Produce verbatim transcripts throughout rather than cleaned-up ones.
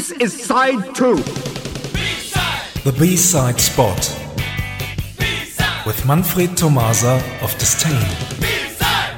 This is side two. B-side. The B-side spot. B-side. With Manfred Tomasa of Disdain. B-side.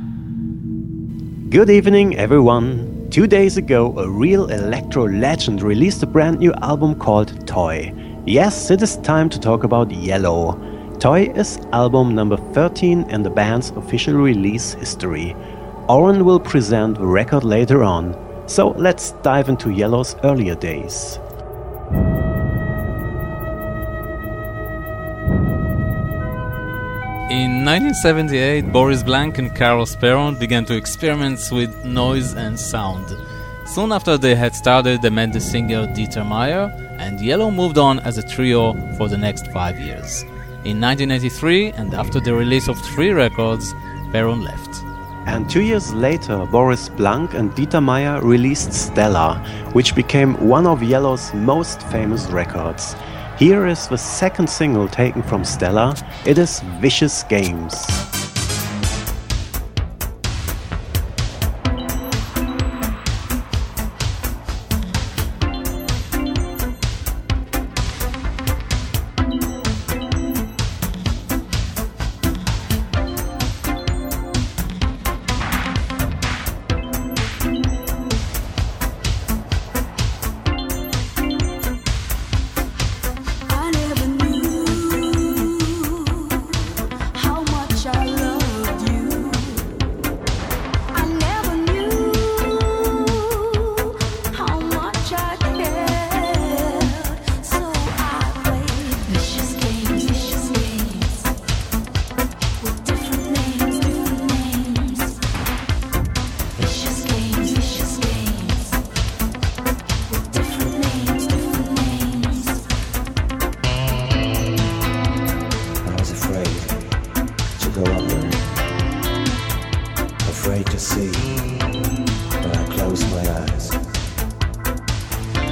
Good evening, everyone. Two days ago, a real electro legend released a brand new album called Toy. Yes, it is time to talk about Yellow. Toy is album number thirteen in the band's official release history. Oren will present the record later on, so let's dive into Yellow's earlier days. In nineteen seventy-eight, Boris Blank and Carlos Perron began to experiment with noise and sound. Soon after they had started, they met the singer Dieter Meier, and Yellow moved on as a trio for the next five years. In nineteen eighty-three, and after the release of three records, Perron left. And two years later, Boris Blank and Dieter Meier released Stella, which became one of Yellow's most famous records. Here is the second single taken from Stella. It is Vicious Games. Afraid to see, but I close my eyes.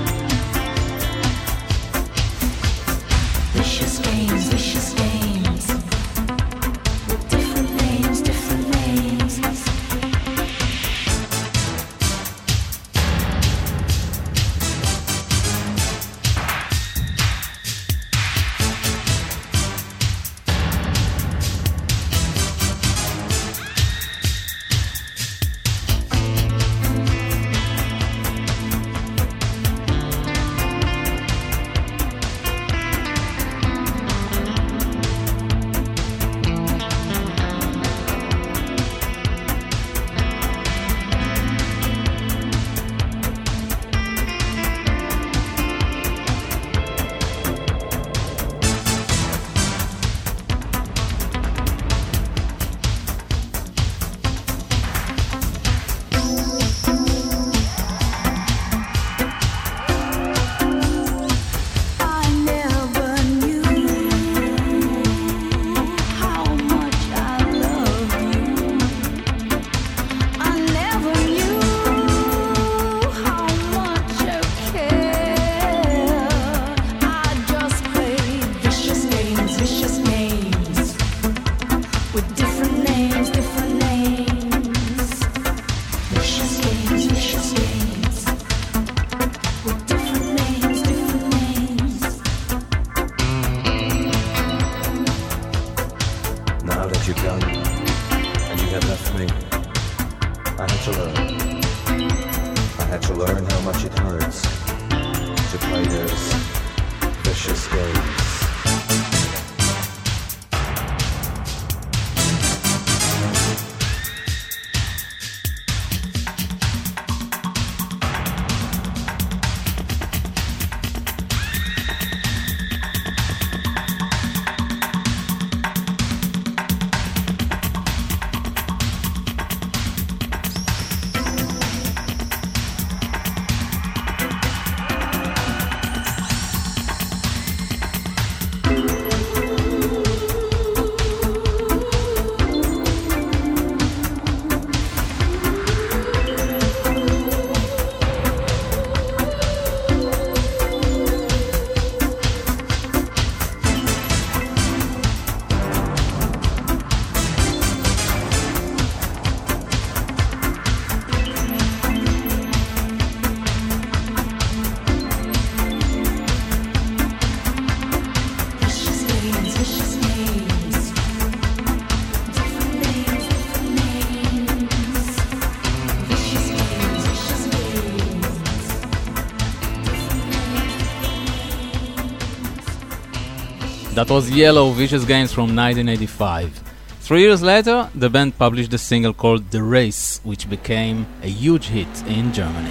That was Yellow Vicious Games from nineteen eighty-five. Three years later, the band published a single called The Race, which became a huge hit in Germany.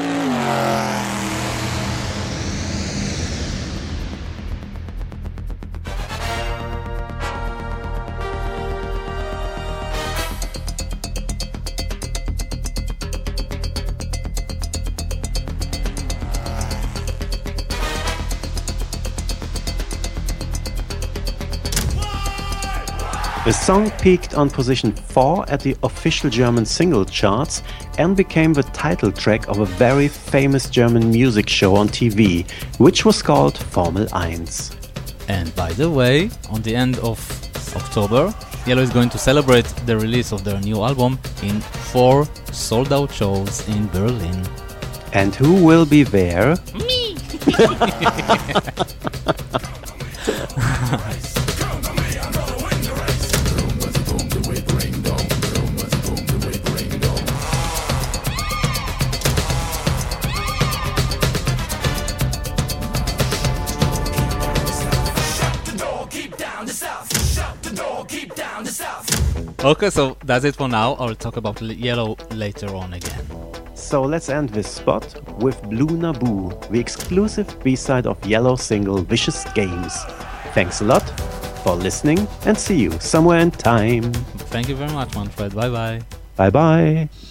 The song peaked on position four at the official German single charts and became the title track of a very famous German music show on T V, which was called Formel one. And by the way, on the end of October, Yellow is going to celebrate the release of their new album in four sold-out shows in Berlin. And who will be there? Me! Okay, so that's it for now. I'll talk about Yellow later on again. So let's end this spot with Blue Naboo, the exclusive B-side of Yellow's single Vicious Games. Thanks a lot for listening and see you somewhere in time. Thank you very much, Manfred. Bye-bye. Bye-bye.